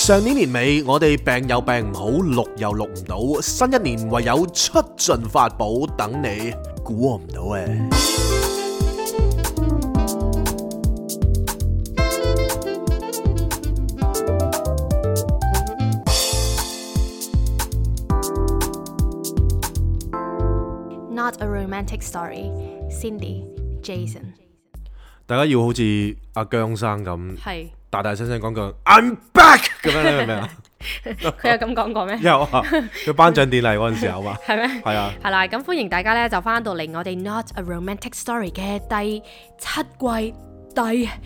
上年年尾，我哋病又病唔好，錄又錄唔到，新一年唯有出盡法寶等你，估我唔到誒。 Not a romantic story. Cindy, Jason。 大家要好似阿姜生咁， 係大大聲聲講句 I'm back 咁樣，你明唔明啊？ 佢有咁講過咩？ 有啊，佢頒獎典禮嗰陣時候嘛。 係咩？ 係啊。 係啦，咁歡迎大家咧就翻到嚟我哋 Not a romantic story 嘅第7季第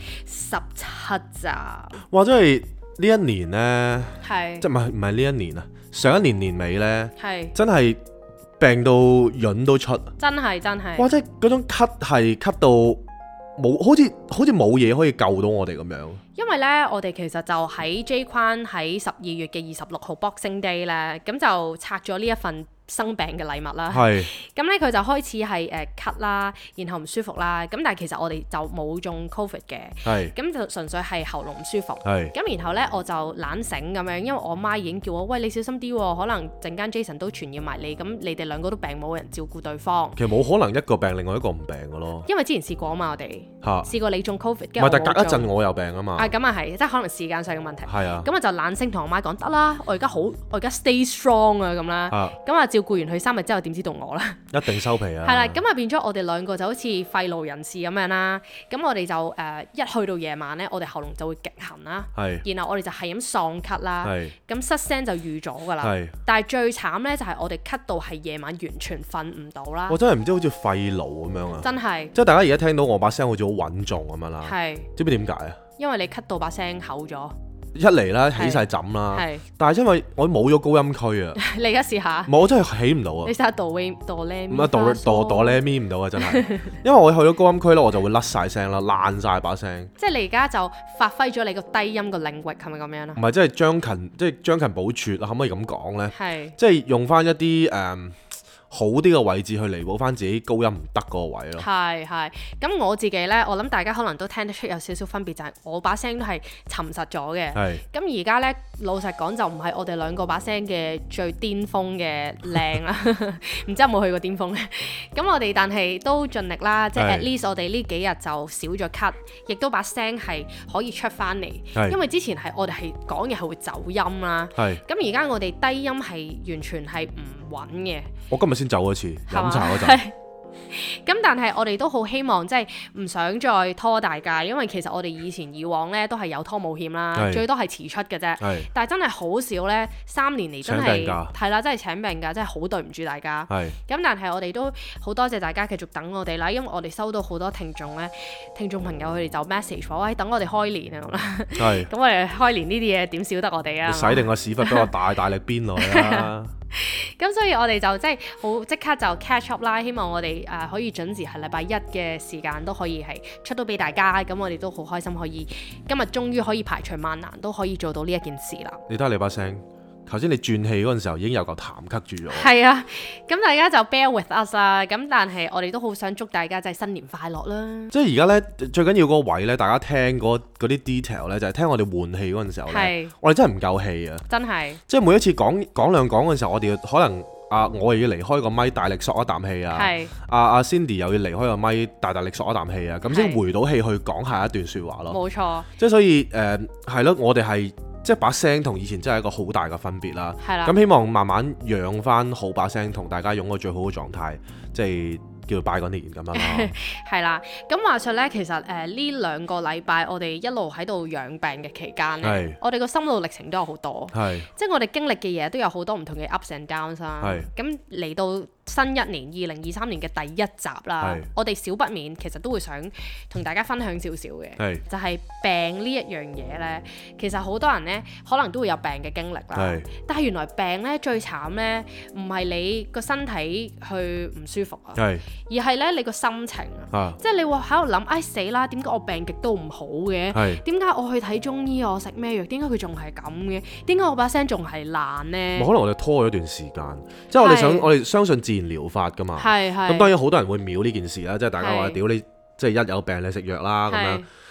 17集。 哇！真係呢一年咧， 係即係唔係呢一年啊？上一年年尾咧， 係真係病到潤都出。真係。 哇！即係嗰種咳係咳到冇，好似冇嘢可以救到我哋咁樣。 因為咧，我哋其實就喺 J 框喺12月嘅26號 Boxing Day 咧，咁就拆咗呢一份生病嘅禮物啦。係。咁咧佢就開始係咳啦，然後唔舒服啦。咁但係其實我哋就冇中 Covid 嘅。係。咁就純粹係喉嚨唔舒服。係。咁然後咧我就懶醒咁樣，因為我媽已經叫我喂，你小心啲喎，可能陣間 Jason 都傳染埋你，咁你哋兩個都病冇人照顧對方。其實冇可能一個病另外一個唔病嘅咯。 因為之前試過啊嘛，我哋試過你中 Covid， 唔係，但隔一陣我有病啊嘛。 咁啊係，即係可能時間上嘅問題。係啊。 咁我就懶醒同我媽講得啦，我而家 stay strong 啊咁啦。咁啊照顧完佢3日之後，點知道我啦？一定收皮啊！ 係啦，咁啊變咗我哋兩個就好似廢勞人士咁樣啦。咁我哋就一去到夜晚咧，我哋喉嚨就會極痕啦。係。然後我哋就係咁喪咳啦。係。咁失聲就預咗㗎啦。係。但係最慘咧就係我哋咳到係夜晚完全瞓唔到啦。 我真係唔知好似肺癆咁樣啊！ 真係。即係大家而家聽到我把聲好似好穩重咁樣啦。係。知唔知點解啊？ 因為你咳到把聲厚咗。 一嚟啦，起晒枕啦，但係因為我冇咗高音區啊， 你而家試下， 我真係起唔到啊！ 你試下哆咧咪， 唔係哆咧咪唔到啊！真係，因為我去咗高音區咧，我就會甩晒聲啦，爛晒把聲。即係你而家就發揮咗你個低音個領域，係咪咁樣啊？ 唔係，即係將勤補拙啊！可唔可以咁講咧？係，即係用翻一啲好啲嘅位置去彌補翻自己高音唔得嗰個位咯。係，咁我自己呢，我諗大家可能都聽得出有少少分別，就係我把聲都係沉實咗嘅。係。咁而家呢，老實講就唔係我哋兩個把聲嘅最巔峰嘅靚啦。唔知有冇去過巔峰呢？咁我哋但係都盡力啦，即係 at least 我哋呢幾日就少咗咳，亦都把聲係可以出翻嚟。係。因為之前係我哋係講嘢係會走音啦。係。咁而家我哋低音係完全係唔穩嘅。我今日先走一次飲茶嗰陣。咁但係我哋都好希望即係唔想再拖大家，因為其實我哋以往咧都係有拖冇欠啦，最多係遲出嘅啫。但係真係好少咧，3年嚟真係係啦，真係請病假，真係好對唔住大家。咁但係我哋都好多謝大家繼續等我哋啦，因為我哋收到好多聽眾朋友佢哋就 message 我，喂，等我哋開年啊咁啦。咁我哋開年呢啲嘢點少得我哋啊？使定個屎忽俾我大力鞭落去啦！咁所以我哋就即係好即刻就 catch up 啦，希望我哋可以準時係禮拜1嘅時間都可以係出到俾大家，咁我哋都好開心可以今日終於可以排除萬難都可以做到呢一件事啦。你睇下你把聲，頭先你轉氣嗰陣時候已經有嚿痰咳住咗。係啊，咁大家就 bear with us 啦。咁但係我哋都好想祝大家即係新年快樂啦。即係而家呢，最緊要嗰個位呢，大家聽嗰啲 detail 呢，就係聽我哋換氣嗰陣時候呢，我哋真係唔夠氣啊！真係，即係每一次講兩講嘅時候，我哋可能我又要離開個咪大力索一啖氣啊，阿 Cindy 又要離開個咪大力索一啖氣啊，咁先回到氣去講下一段説話咯。冇錯，即係所以係咯，我哋係。即係把聲同以前真係一個好大嘅分別啦。係啦。咁希望慢慢養翻好把聲，同大家擁個最好嘅狀態，即係叫做拜個年咁樣咯。係啦。咁話說咧，其實呢2個禮拜我哋一路喺度養病嘅期間咧，我哋個心路歷程都有好多。係。即係我哋經歷嘅嘢都有好多唔同嘅 ups and downs 啦。係。咁嚟到新一年2023年嘅第1集啦，我哋少不免其實都會想同大家分享少少嘅，就係病呢一樣嘢呢。其實好多人呢可能都會有病嘅經歷啦，但係原來病呢最慘呢唔係你個身體去唔舒服啊，而係呢你個心情啊，即係你會喺度諗，唉死啦，點解我病極都唔好嘅？點解我去睇中醫，我食咩藥，點解佢仲係咁嘅？點解我把聲仲係爛呢？可能我哋拖咗一段時間，即係我哋相信自然療法噶嘛，咁當然好多人會秒呢件事啦，即係大家話屌你，即係一有病你食藥啦咁樣。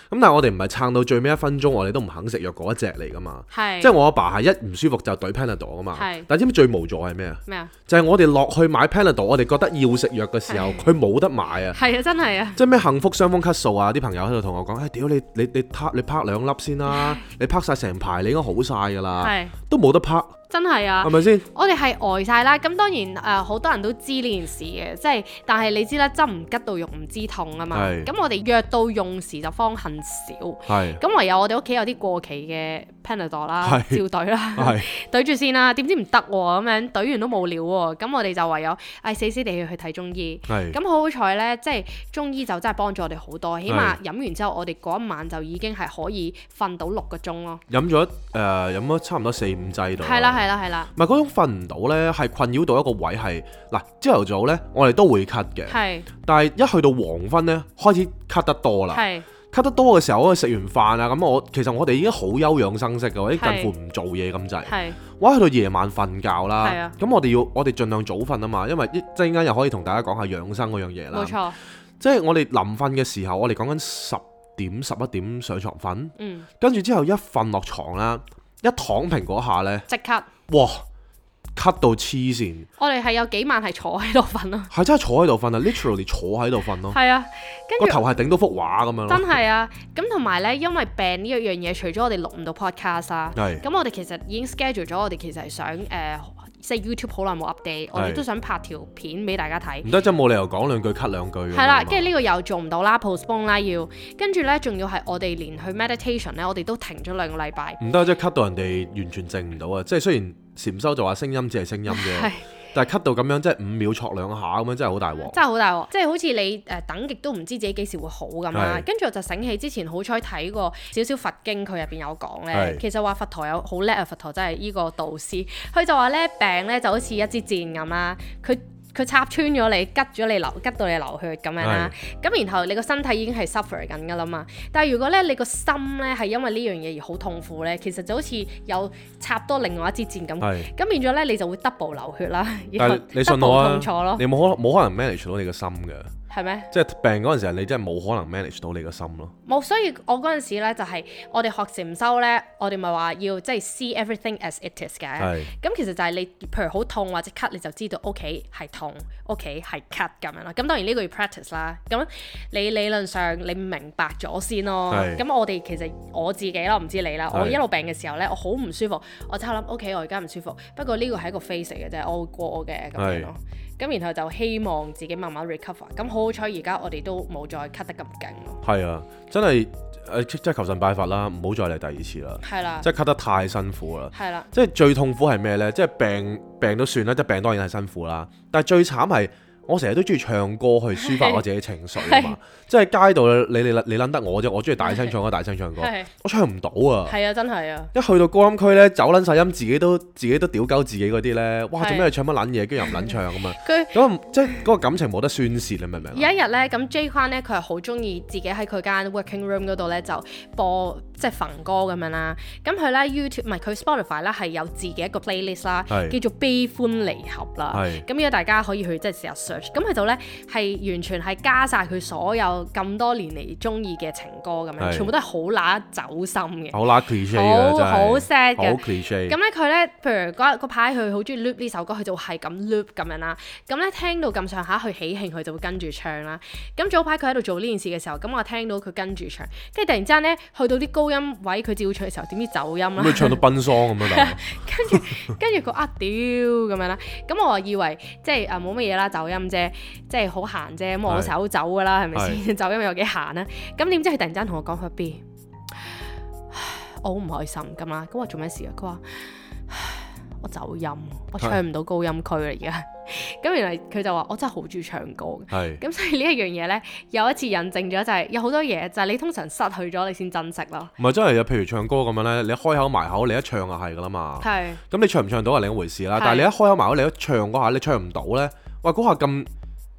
咁但係我哋唔係撐到最尾1分鐘，我哋都唔肯食藥嗰一隻嚟噶嘛。即係我阿爸係一唔舒服就懟 Panadol 噶嘛。但係知唔知最無助係咩啊？咩啊？就係我哋落去買 Panadol，我哋覺得要食藥嘅時候，佢冇得買啊。係啊，真係啊。即係咩幸福傷風咳嗽啊？啲朋友喺度同我講，屌你拍2粒先啦，你拍晒成排，你應該好晒㗎啦，都冇得拍。真係啊，係咪先？我哋係呆晒啦。咁當然好多人都知呢件事嘅，即係但係你知啦，針唔吉到肉唔知痛啊嘛。咁我哋藥到用時就方恨少。咁唯有我哋屋企有啲過期嘅 Panadol 啦，照懟啦，懟住先啦。點知唔得喎，咁樣懟完都冇料喎。咁我哋就唯有死死地去睇中醫。咁好彩呢，即係中醫就真係幫咗我哋好多。起碼飲完之後，我哋嗰一晚就已經係可以瞓到6個鐘咯。飲咗差唔多4-5劑度。係啦。係啦，唔係嗰種瞓唔到呢，係困擾到一個位係嗱，朝頭早呢，我哋都會咳嘅，但係一去到黃昏呢，開始咳得多啦，咳得多嘅時候，我食完飯啊，咁其實我哋已經好休養生息嘅，我啲近乎唔做嘢咁滯，我去到夜晚瞓覺啦，咁我哋盡量早瞓啊嘛，因為一陣間又可以同大家講下養生嗰樣嘢啦，冇錯，即係我哋臨瞓嘅時候，我哋講緊10點11點上床瞓，跟住之後一瞓落床啦，一躺平嗰下呢，即刻。哇！咳到黐線，我哋係有幾晚係坐喺度瞓咯，係真係坐喺度瞓啊 ，literally 坐喺度瞓咯，係啊，跟住個頭係頂到幅畫咁樣咯，真係啊！咁同埋咧，因為病呢一樣嘢，除咗我哋錄唔到 podcast 啊，咁我哋其實已經 schedule 咗，我哋其實係想即係 YouTube 好耐冇 update，我哋都想拍條片俾大家睇。唔得，真冇理由講2句 cut 2句。係啦，跟住呢個又做唔到啦 ，postpone 啦要，跟住咧仲要係我哋連去 meditation 咧，我哋都停咗2個禮拜。唔得，即係 cut 到人哋完全靜唔到啊！即係雖然禪修就話聲音只係聲音啫。但係咳到咁樣，即係5秒戳2下咁樣，真係好大鑊。真係好大鑊，即係好似你等極都唔知自己幾時會好咁啦。跟住我就醒起之前好彩睇過少少佛經，佢入邊有講咧，其實話佛陀有好叻啊！佛陀真係呢個導師，佢就話咧病咧就好似一支箭咁啦，佢插穿咗你，吉到你流血咁樣啦。咁然後你個身體已經係 suffer 緊㗎啦嘛。但係如果咧你個心咧係因為呢樣嘢而好痛苦咧，其實就好似有插多另外一支箭咁。咁變咗咧你就會 double 流血啦，然後 double 痛楚咯。你冇可能 manage 到你個心㗎。係咩？即係病嗰陣時，你真係冇可能 manage 到你個心咯。冇，所以我嗰陣時咧就係我哋學禪修咧，我哋咪話要即係 see everything as it is 嘅。咁其實就係你譬如好痛或者咳，你就知道 OK 係痛，OK 係咳咁樣啦。咁當然呢個要 practice 啦。咁你理論上你明白咗先咯。咁我哋其實我自己啦，唔知你啦。我一路病嘅時候咧，我好唔舒服，我就諗 OK 我而家唔舒服，不過呢個係一個 phase 嚟嘅啫，我會過嘅咁樣咯。咁然後就希望自己慢慢 recover。咁好彩而家我哋都冇再咳得咁勁咯。係啊，真係即係求神拜佛啦，唔好再嚟第2次啦。係啦，即係咳得太辛苦啦。係啦，即係最痛苦係咩呢？即係病都算啦，即係病當然係辛苦啦。但係最慘係我成日都中意唱歌去抒發我自己情緒啊嘛。即係街度你撚得我啫，我中意大聲唱歌，大聲唱歌，我唱唔到啊。係啊，真係啊。一去到高音區咧，走撚晒音，自己都屌鳩自己嗰啲咧，哇！做咩你唱乜撚嘢，跟住又唔撚唱咁啊？咁即係嗰個感情冇得宣泄，你明唔明？有一日咧，咁 J 框咧，佢係好中意自己喺佢間 working room 嗰度咧就播即係焚歌咁樣啦。咁佢咧 YouTube 唔係佢 Spotify 咧係有自己一個 playlist 啦，叫做悲歡離合啦。咁如果大家可以去即係試下 search，咁佢度咧係完全係加晒佢所有咁多年嚟中意嘅情歌咁樣，全部都係好揦走心嘅，好揦 cliche 嘅，好 sad 嘅，好 cliche。咁咧佢咧，譬如嗰排佢好中意 loop 呢首歌，佢就係咁 loop 咁樣啦。咁咧聽到咁上下佢喜慶，佢就會跟住唱啦。咁早排佢喺度做呢件事嘅時候，咁我聽到佢跟住唱，跟住突然之間咧去到啲高音位，佢照唱嘅時候，點知走音啦？咁佢唱到奔喪咁樣，跟住佢屌咁樣啦。咁我以為即係冇乜嘢啦，走音啫，即係好閒啫。咁我手走㗎啦，係咪先？走音有幾閒啊？咁點知佢突然間同我講佢 B， 我好唔開心咁啦。咁我做咩事啊？佢話我走音，我唱唔到高音區啦而家。咁原來佢就話我真係好中意唱歌嘅。咁所以呢一樣嘢咧，有一次印證咗就係有好多嘢就係你通常失去咗你先珍惜咯。唔係真係啊，譬如唱歌咁樣咧，你一開口埋口，你一唱就係噶啦嘛。咁你唱唔唱到係另一回事啦。但係你一開口埋口，你一唱嗰下，你唱唔到咧，哇嗰下咁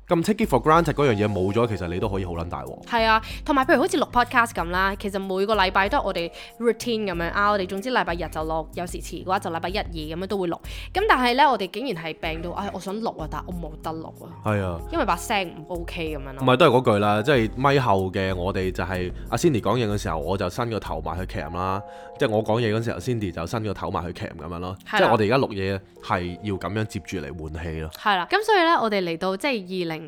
咁 take it for granted 嗰樣嘢冇咗，其實你都可以好撚大鑊。 係啊，同埋譬如好似錄 podcast 咁啦，其實每個禮拜都係我哋 routine 咁樣啊，我哋總之禮拜日就錄，有時遲嘅話就禮拜一二咁樣都會錄。咁但係咧，我哋竟然係病到，我想錄啊，但係我冇得錄啊。係啊，因為把聲唔 OK 咁樣咯。 唔係都係嗰句啦，即係咪後嘅我哋就係阿 Cindy 講嘢嘅時候，我就伸個頭埋去 cam 啦，即係我講嘢嗰時候 Cindy 就伸個頭埋去 cam 咁樣咯。即係我哋而家錄嘢係要咁樣接住嚟換氣咯。係啦， 咁所以咧，我哋嚟到即係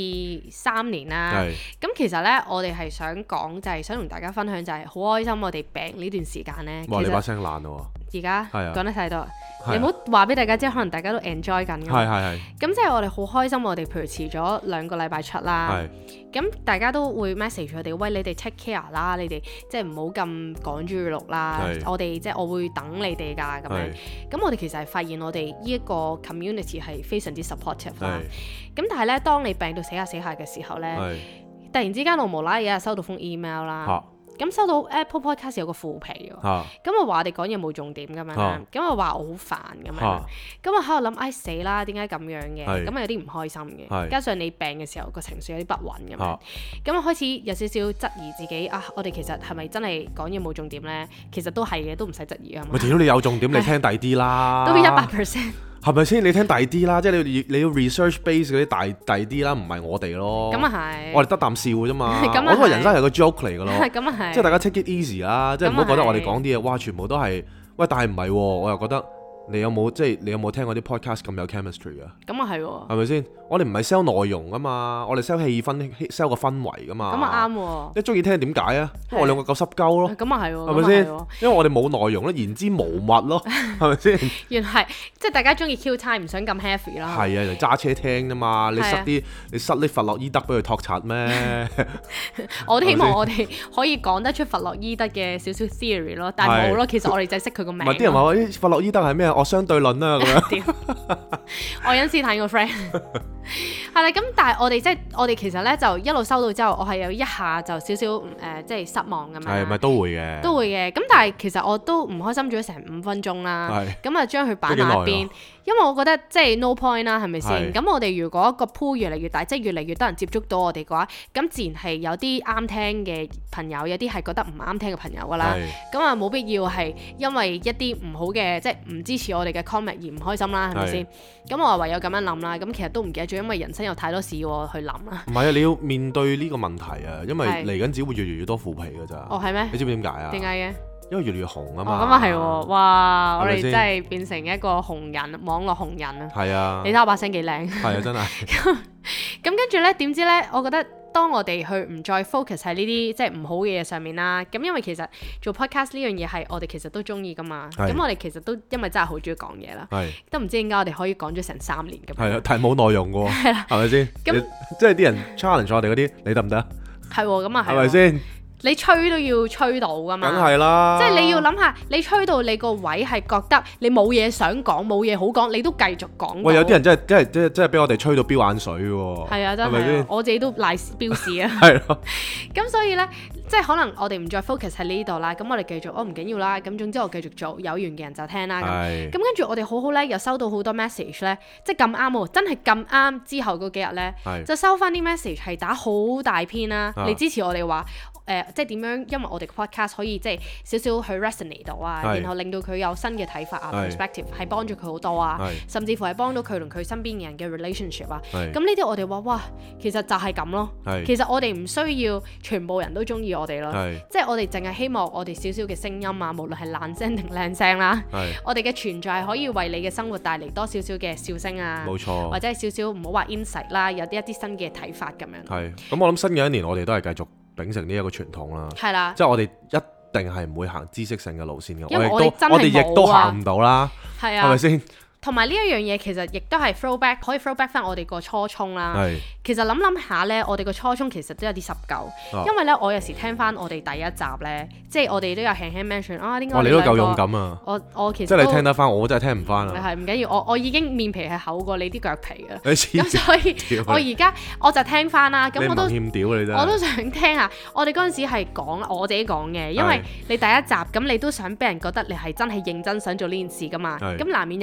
2023年啦，咁其實咧，我哋係想講就係想同大家分享就係好開心，我哋病呢段時間咧。 哇！你把聲爛咯喎！ 而家講得太多，你唔好話俾大家知，可能大家都 enjoy 緊㗎。係。咁即係我哋好開心，我哋譬如遲咗2個禮拜出啦。咁大家都會 message 我哋，喂，你哋 take care 啦，你哋即係唔好咁趕住錄啦。我哋即係我會等你哋㗎咁樣。咁我哋其實係發現我哋呢一個 community 係非常之 supportive 啦。咁但係咧，當你病到死下嘅時候咧，突然之間我無啦啦有日收到封 email 啦。咁收到 Apple Podcast 有個負評喎，咁我話我哋講嘢冇重點咁樣啦，咁我話我好煩咁樣，咁我喺度諗，唉死啦，點解咁樣嘅？咁有啲唔開心嘅，加上你病嘅時候個情緒有啲不穩咁樣，咁我開始有少少質疑自己啊，我哋其實係咪真係講嘢冇重點咧？其實都係嘅，都唔使質疑啊嘛。 咪屌你有重點，你聽第啲啦， 都100%。係咪先？你聽大啲啦，即係你要 research base 嗰啲大啲啦，唔係我哋咯。 咁啊係。我哋得啖笑嘅啫嘛。我覺得人生係個 joke 嚟嘅咯。 咁啊係。 即係大家 take it easy 啦，即係唔好覺得我哋講啲嘢，哇，全部都係，喂，但係唔係喎，我又覺得。你有冇聽過啲 podcast 咁有 chemistry 啊？ 咁啊係喎， 係咪先？我哋唔係 sell 內容啊嘛，我哋 sell 氣氛，sell 個氛圍噶嘛。 咁啊啱喎。你中意聽點解啊？因為我兩個夠濕鳩咯。 咁啊係喎， 係咪先？因為我哋冇內容咯，言之無物咯，係咪先？ 原來即係大家中意 Q time，唔想咁 heavy 啦。 係啊，就揸車聽啫嘛。你塞啲弗洛伊德俾佢托柒咩？ 我都希望我哋可以講得出弗洛伊德嘅少少 theory 咯，但係冇咯。其實我哋就係識佢個名。 唔係啲人話弗洛伊德係咩？我相對論啦。 愛因斯坦個 friend 係啦，咁但係我哋其實咧就一路收到之後，我係有一下就少少即係失望咁樣。係咪都會嘅？都會嘅。咁但係其實我都唔開心咗成5分鐘啦。咁啊將佢擺埋一邊，因為我覺得即係 no point 啦，係咪先？咁我哋如果個 pool 越嚟越大，即係越嚟越多人接觸到我哋嘅話，咁自然係有啲啱聽嘅朋友，有啲係覺得唔啱聽嘅朋友噶啦。咁啊冇必要係因為一啲唔好嘅，即係唔支持我哋嘅 comment 而唔開心啦，係咪先？咁我唯有咁樣諗啦。咁其實都唔記得咗，因為人生有太多事要去諗啦。唔係啊，你要面對呢個問題啊，因為嚟緊只會越嚟越多腐皮㗎咋。 哦，係咩？ 你知唔知點解啊？ 點解嘅？ 因為越嚟越紅啊嘛。 咁啊係喎，哇！我哋真係變成一個紅人，網絡紅人啊。係啊。你睇我把聲幾靚。係啊，真係。咁跟住咧，點知咧？我覺得當我哋去唔再 focus 喺呢啲即係唔好嘅嘢上面啦，咁因為其實做 podcast 呢樣嘢係我哋其實都中意噶嘛。咁我哋其實都因為真係好中意講嘢啦。都唔知點解我哋可以講咗成3年咁。 係啊，但係冇內容嘅喎。係啦。係咪先？咁即係啲人 challenge 我哋嗰啲，你得唔得？係喎，咁啊係。係咪先？你吹都要吹到噶嘛？梗係啦！即係你要諗下，你吹到你個位係覺得你冇嘢想講，冇嘢好講，你都繼續講。喂，有啲人真係俾我哋吹到飆眼水喎！係啊，真係，我自己都賴飆屎啊！係咯。咁所以咧，即係可能我哋唔再 focus 喺呢度啦。咁我哋繼續，唔緊要啦。咁總之我繼續做，有緣嘅人就聽啦。咁跟住我哋好好咧，又收到好多 message 咧，即係咁啱喎，真係咁啱之後嗰幾日咧，就收翻啲 message 係打好大篇啦，嚟支持我哋話。即係點樣？因為我哋 podcast 可以即係少少去 resonate 到啊，然後令到佢有新嘅睇法啊 perspective 係幫助佢好多啊，甚至乎係幫到佢同佢身邊嘅人嘅 relationship 啊。咁呢啲我哋話哇，其實就係咁咯。其實我哋唔需要全部人都中意我哋咯，即係我哋淨係希望我哋少少嘅聲音啊，無論係爛聲定靚聲啦，我哋嘅存在係可以為你嘅生活帶嚟多少少嘅笑聲啊，冇錯，或者係少少唔好話 insight 啦，有一啲新嘅睇法咁樣。係，咁我諗新嘅一年我哋都係繼續秉承呢一個傳統啦，係啦，即係我哋一定係唔會行知識性嘅路線嘅，我哋亦都行唔到啦，係啊，係咪先？同埋呢一樣嘢其實亦都係 throwback，可以 throwback 翻我哋個初衷啦。其實諗下咧，我哋個初衷其實都有啲濕鳩，因為咧我有時聽翻我哋第一集咧，即係我哋都有輕輕 mention 啊，點解你都夠勇敢啊！我其實即係你聽得翻，我真係聽唔翻啊！係唔緊要，我已經面皮係厚過你啲腳皮嘅，咁所以我而家我就聽翻啦。咁我都欠屌你真係，我都想聽下。我哋嗰陣時係講我自己講嘅，因為你第一集咁，你都想俾人覺得你係真係認真想做呢件事噶嘛。咁難免有少少做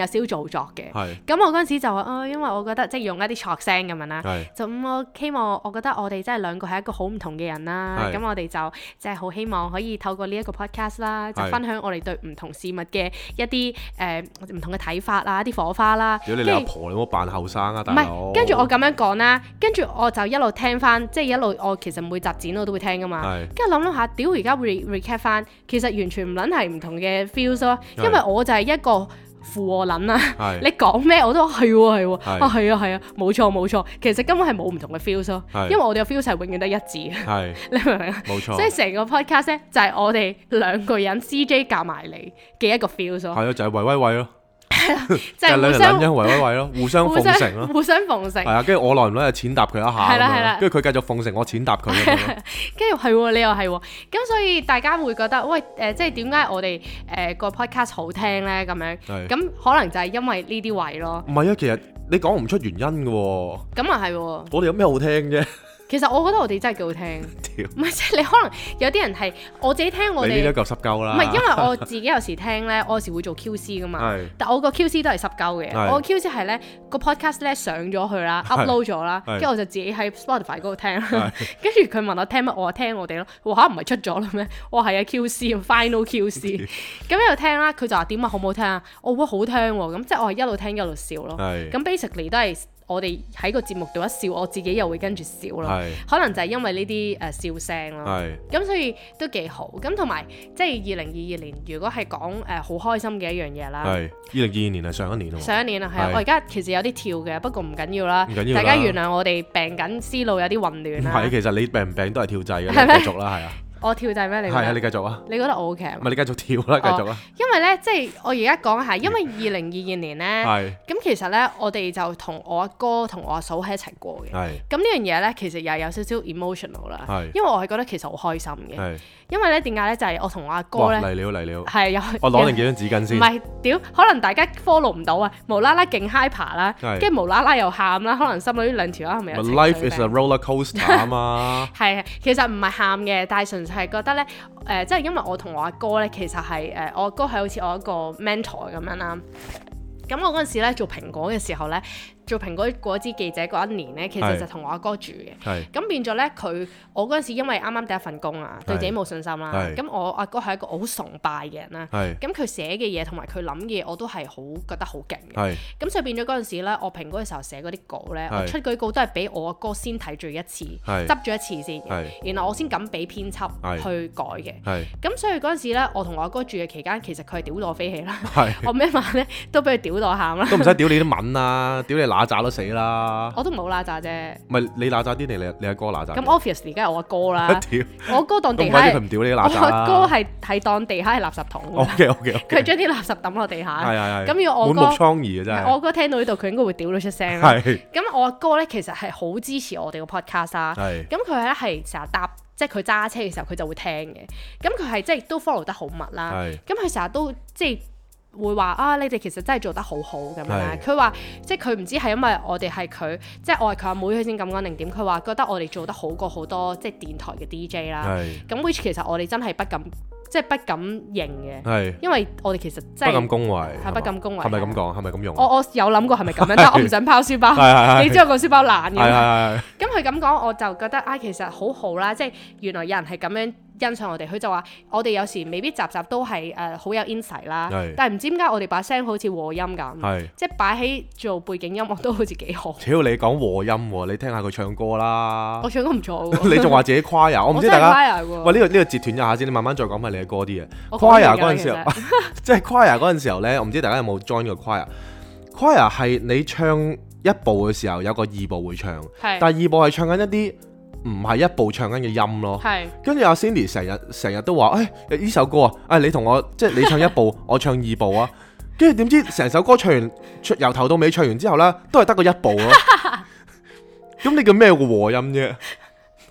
作嘅。咁我嗰陣時就話因為我覺得即係用一啲錯聲咁樣啦，就我希望我覺得我哋真係兩個係一個好唔同嘅人啦。咁我哋就即係好希望可以透過呢一個 podcast 啦，就分享我哋對唔同事物嘅一啲唔同嘅睇法啊，一啲火花啦。 如果你阿婆，你冇扮後生啊，大佬。唔係， 跟住我咁樣講啦，跟住我就一路聽翻，即係一路我其實每集剪我都會聽噶嘛。跟住諗下，屌而家 recap 翻，其實完全唔撚係唔同嘅 feels 咯。因為我就係一個附和撚啦，你講咩我都係喎，係啊，冇錯，其實根本係冇唔同嘅 feels 咯。因為我哋嘅 feels 係永遠都一致嘅。你明唔明啊？冇錯。所以成個 podcast 咧就係我哋兩個人 CJ 夾埋嚟嘅一個 feels 咯。 係啊，就係喂咯。 即係兩人撚因喂咯，互相奉承咯， 互相奉承。 係啊，跟住我耐唔耐就淺答佢一下，係啦，跟住佢繼續奉承我淺答佢， 跟住係你又係，咁所以大家會覺得喂即係點解我哋個 podcast 好聽咧？咁樣咁可能就係因為呢啲位咯。唔係啊，其實你講唔出原因嘅喎。咁啊係喎。我哋有咩好聽啫？其實我覺得我哋真係幾好聽，唔係即係你可能有啲人係我自己聽我哋，你呢啲夠濕鳩啦。唔係因為我自己有時聽咧，我有時會做 QC 噶嘛，但我個 QC 都係濕鳩嘅。我個 QC 係咧個 podcast 咧上咗去啦，upload 咗啦，跟住我就自己喺 Spotify 嗰度聽啦。跟住佢問我聽乜，我話聽我哋咯。我話唔係出咗啦咩？我話係啊 QC，final QC。咁一路聽啦，佢就話點啊好唔好聽啊？我覺得好聽喎，咁即係我係一路聽一路笑咯。咁 basically 都係。我哋喺個節目度一笑，我自己又會跟住笑咯。可能就係因為呢啲笑聲咯。咁所以都幾好。咁同埋即係2022年，如果係講好開心嘅一樣嘢啦。2022年係上一年咯。上一年啊，係啊。我而家其實有啲跳嘅，不過唔緊要啦。唔緊要啦。大家原諒我哋病緊，思路有啲混亂啦。唔係，其實你病唔病都係跳掣嘅，你繼續啦，係啊。我跳掣咩？你係啊，你繼續啊！你覺得我 OK 唔係你繼續跳啦，繼續啦。因為咧，即係我而家講下，因為2022年咧，咁其實咧，我哋就同我阿哥同我阿嫂喺一齊過嘅。咁呢樣嘢咧，其實又有少少 emotional 啦。因為我係覺得其實好開心嘅。因為咧，點解咧？就係我同我阿哥咧，嚟了。係有。我攞定幾張紙巾先。唔係，屌，可能大家 follow 唔到啊！無啦啦勁 hyper 啦，跟住無啦啦又喊啦，可能心裏呢兩條係咪有情緒病？ Life is a roller coaster 啊嘛。係，其實唔係喊嘅，但係純粹係覺得咧，即係因為我同我阿哥咧，其實係我阿哥係好似我一個 mentor 咁樣啦。咁我嗰陣時咧做蘋果嘅時候咧，做蘋果果汁記者嗰一年咧，其實就同我阿哥住嘅。咁變咗咧，我嗰陣時因為啱啱第一份工啊，對自己冇信心啦。咁我阿哥係一個好崇拜嘅人啦。咁佢寫嘅嘢同埋佢諗嘅嘢，我都係好覺得好勁嘅。咁所以變咗嗰陣時咧，我蘋果嘅時候寫嗰啲稿咧，我出嗰啲稿都係俾我阿哥先睇咗一次，執咗一次先，然後我先敢俾編輯去改嘅。咁所以嗰陣時咧，我同我阿哥住嘅期間，其實佢係屌到我飛起啦。我咩晚咧都俾佢屌到喊啦。都唔使屌你啲文啊，屌你乸渣都死啦！我都唔好乸渣啫。唔係你乸渣啲定你阿哥乸渣？咁 obviously 梗係我阿哥啦。我阿哥當地下，佢唔屌你乸渣啦。我阿哥係當地下係垃圾桶。OK。佢將啲垃圾抌落地下。係。咁要我哥滿目瘡痍啊！真係。我阿哥聽到呢度，佢應該會屌到出聲啦。咁我阿哥咧其實係好支持我哋個 podcast 啦。咁佢咧係成日搭，即係佢揸車嘅時候佢就會聽嘅。咁佢係即係都 follow 得好密啦。咁佢成日都即係。會話啊，你哋其實真係做得好好咁樣。佢話即係佢唔知係因為我哋係佢，即係我係佢阿妹，佢先咁講定點。佢話覺得我哋做得好過好多即係電台嘅 DJ 啦。咁 which 其實我哋真係不敢認嘅。因為我哋其實真係不敢恭維。係不敢恭維。係咪咁講？係咪咁用？我有諗過係咪咁樣，但係我唔想拋書包。你知我個書包爛嘅。咁佢咁講，我就覺得其實好好啦。即係原來有人係咁樣欣賞我哋。佢就話我哋有時未必集都係好有 insight 啦，但係唔知點解我哋把聲好似和音咁，即係擺喺做背景音樂都好似幾好。屌你講和音喎，你聽下佢唱歌啦。我唱歌唔錯喎。你仲話自己 choir，我唔知大家。喂，呢個截斷一下先，你慢慢再講埋你嘅歌啲嘢。choir 嗰陣時候，即係 choir 嗰陣時候咧，我唔知大家有冇 join 過 choir。choir 係你唱一部嘅時候有個二部會唱，但係二部係唱緊一啲唔係一部唱緊嘅音咯，跟住阿 Cindy 成日都話，呢首歌你同我即係你唱一部，我唱二部啊，跟住點知成首歌唱完，由頭到尾唱完之後呢，都係得個一部咯。咁你叫咩個和音啫？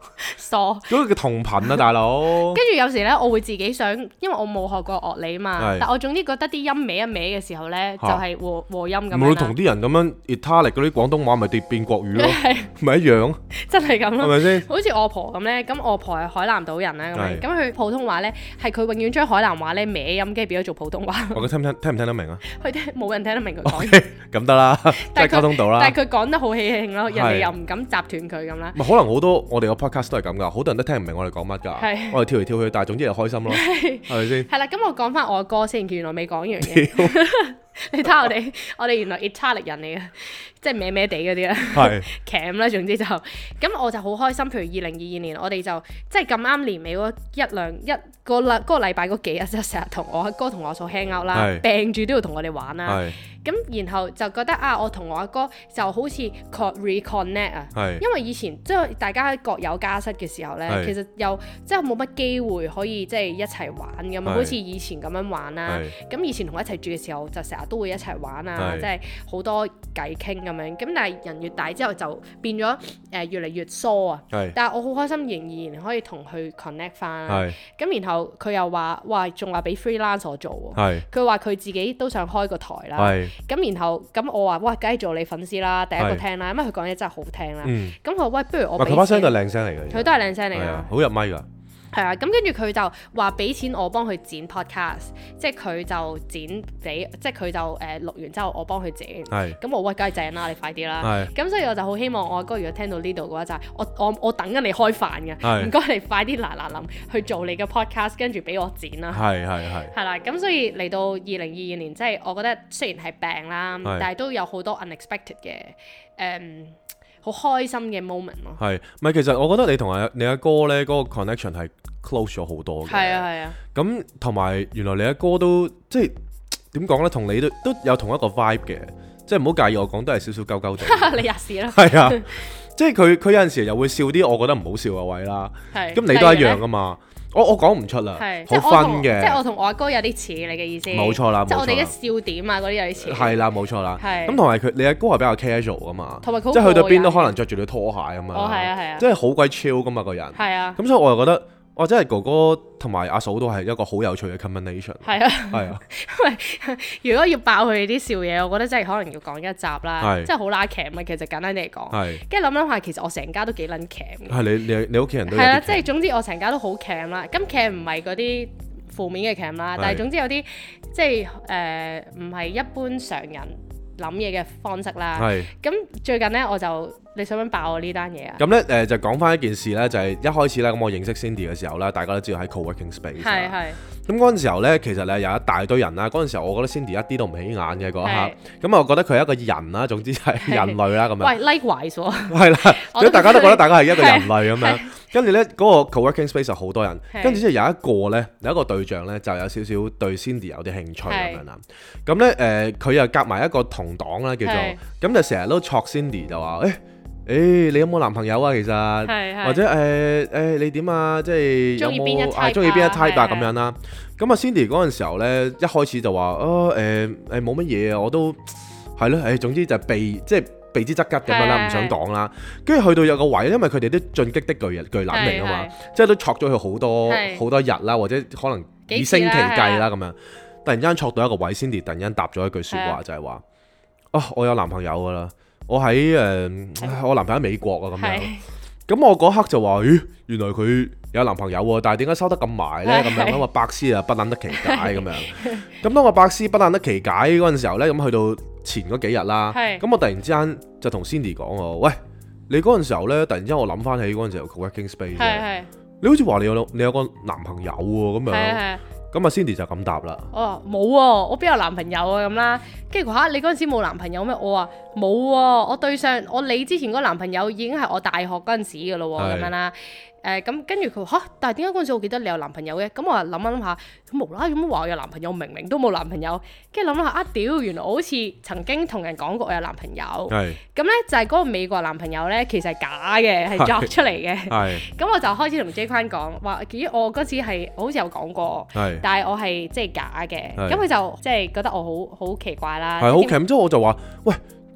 疏。 嗰個叫同頻啊，大佬。 跟住有時咧，我會自己想，因為我冇學過樂理啊嘛，但我總之覺得啲音歪一歪嘅時候咧，就係和音咁樣啦。唔會同啲人咁樣 Italic 嗰啲廣東話咪變國語咯，咪一樣。真係咁咯，係咪先？好似我婆咁咧，咁我婆係海南島人啦，咁佢普通話咧係佢永遠將海南話咧歪音，跟住變咗做普通話。我聽唔聽得明啊？佢冇人聽得明佢講嘢。咁得啦，即係溝通到啦。但係佢講得好喜慶咯，人哋又唔敢斬斷佢咁啦。可能好多我哋個 podcast 都係咁噶，好多人都聽唔明我哋講乜㗎。我哋跳嚟跳去，但係總之就開心咯，係咪先？係啦，咁我講翻我阿哥先，原來未講完嘅。你睇下我哋原來 Italic 人嚟嘅，即係歪歪地嗰啲啦，係 cam 啦，總之就咁我就好開心。譬如2022年，我哋就即係咁啱年尾嗰一個禮拜嗰幾日，就成日同我阿哥同我嫂 hang out 啦，病住都要同我哋玩啦。咁然後就覺得我同我阿哥就好似 reconnect 啊，因為以前即係大家各有家室嘅時候咧，其實又即係冇乜機會可以即係一齊玩咁，好似以前咁樣玩啦。咁以前同我一齊住嘅時候，就成日都會一齊玩啊，即係好多偈傾咁樣。咁但係人越大之後就變咗越嚟越疏啊。但係我好開心，仍然可以同佢 connect 翻。咁然後佢又話：哇，仲話俾 freelance 我做喎。佢話佢自己都想開個台啦。咁然後咁我話：哇，梗係做你粉絲啦，第一個聽啦，因為佢講嘢真係好聽啦。咁佢話：喂，不如我俾錢。佢把聲都係靚聲嚟嘅。佢都係靚聲嚟㗎。好入咪㗎。係啊，咁跟住佢就話俾錢我幫佢剪 podcast，即係佢就剪俾，即係佢就錄完之後我幫佢剪。咁我喂，梗係正啦，你快啲啦。咁所以我就好希望我阿哥如果聽到呢度嘅話，就係我等緊你開飯嘅，唔該你快啲嗱臨去做你嘅 podcast，跟住俾我剪啦。係啦，咁所以嚟到2022年，即係我覺得雖然係病啦，但係都有好多 unexpected 嘅好開心嘅 moment 咯。係，咪其實我覺得你同你阿哥咧嗰個 connection 係 close 咗好多嘅。係啊。咁同埋原來你阿哥都即係點講咧，同你都有同一個 vibe 嘅，即係唔好介意我講都係少少鳩鳩哋。你吔屎啦。係啊，即係佢有陣時又會笑啲我覺得唔好笑嘅位啦。係。咁你都一樣噶嘛？我講唔出啦，好分嘅。即係我同我阿哥有啲似，你嘅意思？冇錯啦，即係我哋嘅笑點啊嗰啲有啲似。係啦，冇錯啦。咁同埋你阿哥係比較 casual 噶嘛，同埋即係去到邊都可能着住對拖鞋咁樣。哦，係啊。即係好鬼 chill 噶嘛個人。係啊。咁所以我又覺得，哇！真係哥哥同埋阿嫂都係一個好有趣嘅 combination。係啊。因為如果要爆佢哋啲笑嘢，我覺得真係可能要講一集啦。即係好拉鉗啊！其實簡單啲嚟講。係。跟住諗下，其實我成家都幾撚鉗嘅。係你屋企人都係啦，即係總之我成家都好鉗啦。咁鉗唔係嗰啲負面嘅鉗啦，但係總之有啲即係唔係一般常人諗嘢嘅方式啦。係。咁最近咧我就。你想唔想爆我呢單嘢啊？咁咧就講翻一件事咧，就係一開始咧咁我認識 Cindy 嘅時候咧，大家都知道喺 co-working space。係。咁嗰陣時候咧，其實咧有一大堆人啦。嗰陣時候我覺得 Cindy 一啲都唔起眼嘅嗰一刻。咁我覺得佢係一個人啦，總之係人類啦咁樣。喂 likewise 喎。係啦，所以大家都覺得大家係一個人類咁樣。跟住咧嗰個 co-working space 有好多人，跟住之後有一個對象咧就有少少對 Cindy 有啲興趣咁樣啦。咁咧佢又夾埋一個同黨啦，叫做咁就成日都戳 Cindy 就話你有冇男朋友啊？其實或者你點啊？即係有冇中意邊一 type 啊？咁樣啦。咁啊 Cindy 嗰陣時候咧，一開始就話冇乜嘢啊，我都係咯，總之就避之則吉咁樣啦，唔想講啦。跟住去到有個位，因為佢哋都進擊的巨男嚟啊嘛，即係都戳咗佢好多日啦，或者可能以星期計啦咁樣。突然間戳到一個位 ，Cindy 突然間答咗一句説話，就係話：我有男朋友㗎啦。我喺我男朋友喺美國啊咁樣，咁我嗰刻就話：咦，原來佢有男朋友喎，但係點解收得咁埋咧？咁樣咁啊，百思啊不撚得其解咁樣。咁當我百思不撚得其解嗰陣時候咧，咁去到前嗰幾日啦，咁我突然之間就同 Cindy 講喎：喂，你嗰陣時候咧，突然之間我諗翻起嗰陣時候 co-working space，你好似話你有個男朋友喎咁樣。咁啊 Cindy 就咁答啦。冇喎，我邊有男朋友啊咁啦。跟住佢話你嗰陣時冇男朋友咩？我話冇喎，我對上你之前嗰個男朋友已經係我大學嗰陣時嘅咯喎，咁樣啦。咁跟住佢話但係點解嗰陣時我記得你有男朋友嘅？咁我話諗下，咁無啦啦咁話我有男朋友，明明都冇男朋友。跟住諗下屌，原來我好似曾經同人講過我有男朋友。咁咧就係嗰個美國男朋友咧，其實係假嘅，係作出嚟嘅。咁我就開始同 J 坤講話，咦，我嗰次係好似有講過，但係我係即係假嘅。咁佢就即係覺得我好奇怪啦。係好奇，之後我就話喂。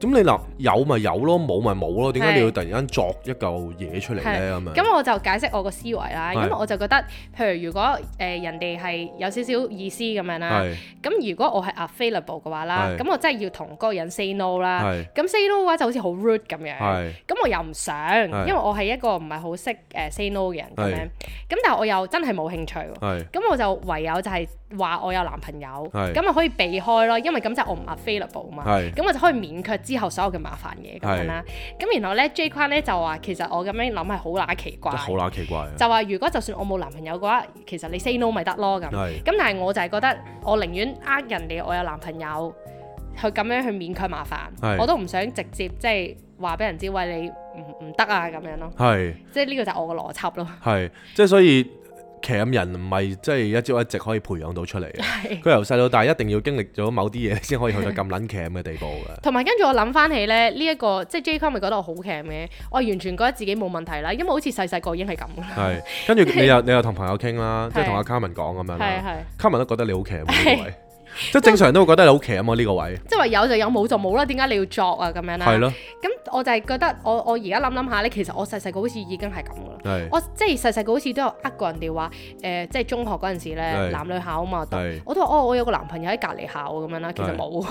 咁你嗱有咪有咯，冇咪冇咯，點解你要突然間作一嚿嘢出嚟咧？咁樣咁我就解釋我個思維啦，因為我就覺得，譬如如果人哋係有少少意思咁樣啦，咁如果我係 available 嘅話啦，咁我真係要同嗰個人 say no 啦，咁 say no 嘅話就好似好 rude 咁樣，咁我又唔想，因為我係一個唔係好識say no 嘅人咁樣，咁但係我又真係冇興趣，咁我就唯有就係話我有男朋友，咁啊可以避開咯，因為咁就我唔 available 嘛，咁我就可以免卻之後所有嘅麻煩嘢咁樣啦。咁然後咧 J 框咧就話其實我咁樣諗係好乸奇怪， 好乸奇怪。 就話如果就算我冇男朋友嘅話，其實你 say no 咪得咯咁。咁但係我就係覺得我寧願人哋我有男朋友，去咁樣去免卻麻煩，我都唔想直接即係話俾人知喂你唔得啊咁樣咯。即係呢個就係我個邏輯咯。 即係所以。鉗人唔係即係一朝一夕可以培養到出嚟嘅，佢由細到大一定要經歷咗某啲嘢先可以去到咁撚鉗嘅地步嘅。 同埋跟住我諗翻起咧，呢一個即係 J 框咪覺得我好鉗嘅，我完全覺得自己冇問題啦，因為好似細細個已經係咁啦。 跟住你又同朋友傾啦，即係同阿 Carmen 講咁樣啦，Carmen 都覺得你好鉗呢個位，即係正常人都會覺得你好鉗啊呢個位。即係話有就有，冇就冇啦，點解你要作啊咁樣啦？係咯。咁我就係覺得我而家諗下咧，其實我細細個好似已經係咁噶啦。我即係細細個好似都有過人哋話即係中學嗰陣時咧，男女校啊嘛，我都話我有個男朋友喺隔離校咁樣啦，其實冇。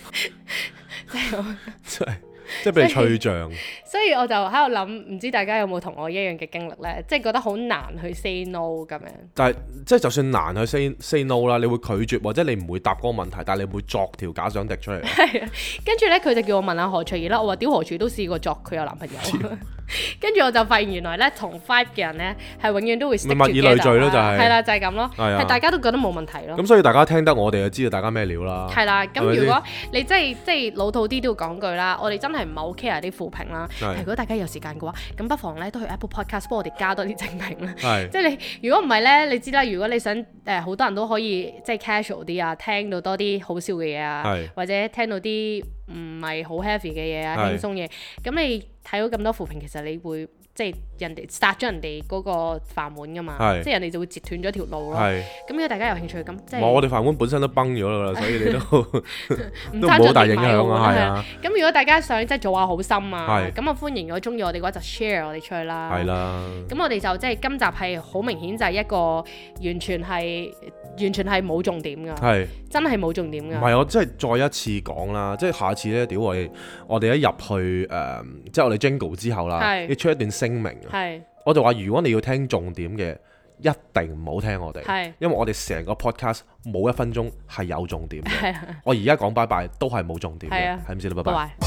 即係俾你吹脹， 所以我就喺度諗，唔知大家有冇同我一樣嘅經歷咧？即係覺得好難去 say no 咁樣。但係即係就算難去 say no 啦，你會拒絕或者你唔會答嗰個問題，但係你會作條假想敵出嚟。 係啊，跟住咧佢就叫我問下何翠怡啦。我話屌何翠都試過作佢有男朋友。跟住我就發現原來咧同 five 嘅人咧係永遠都會 stick together，物以類聚咯，就係啦，就係咁咯，係大家都覺得冇問題咯。 咁所以大家聽得我哋就知道大家咩料啦。 係啦，咁如果你即係老土啲都要講句啦，我哋真係唔係好 care 啲負評啦。如果大家有時間嘅話，咁不妨咧都去 Apple Podcast 幫我哋加多啲正評啦。即係你如果唔係咧，你知啦，如果你想好多人都可以即係 casual 啲啊，聽到多啲好笑嘅嘢啊，或者聽到啲唔係好 heavy 嘅嘢啊，輕鬆嘢，咁你睇到咁多負評，其實你會即係人哋殺咗人哋嗰個飯碗噶嘛，即係人哋就會截斷咗條路咯。咁如果大家有興趣，咁即係我哋飯碗本身都崩咗啦，所以你都唔好大影響啊。係啊。咁如果大家想即係做下好心啊，咁啊歡迎，如果中意我哋嘅話就 share 我哋出去啦。 係啦。咁我哋就即係今集係好明顯就係一個完全係冇重點㗎，真係冇重點㗎。唔係， 我即係再一次講啦，即係下次咧，屌我哋一入去即係我哋 Jingle 之後啦，你出一段聲明啊，我就話如果你要聽重點嘅，一定唔好聽我哋，因為我哋成個 podcast 冇1分鐘係有重點嘅。我而家講拜拜都係冇重點嘅，係唔知啦，拜拜。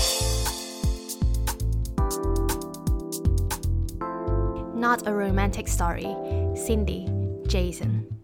Not a romantic story. Cindy, Jason.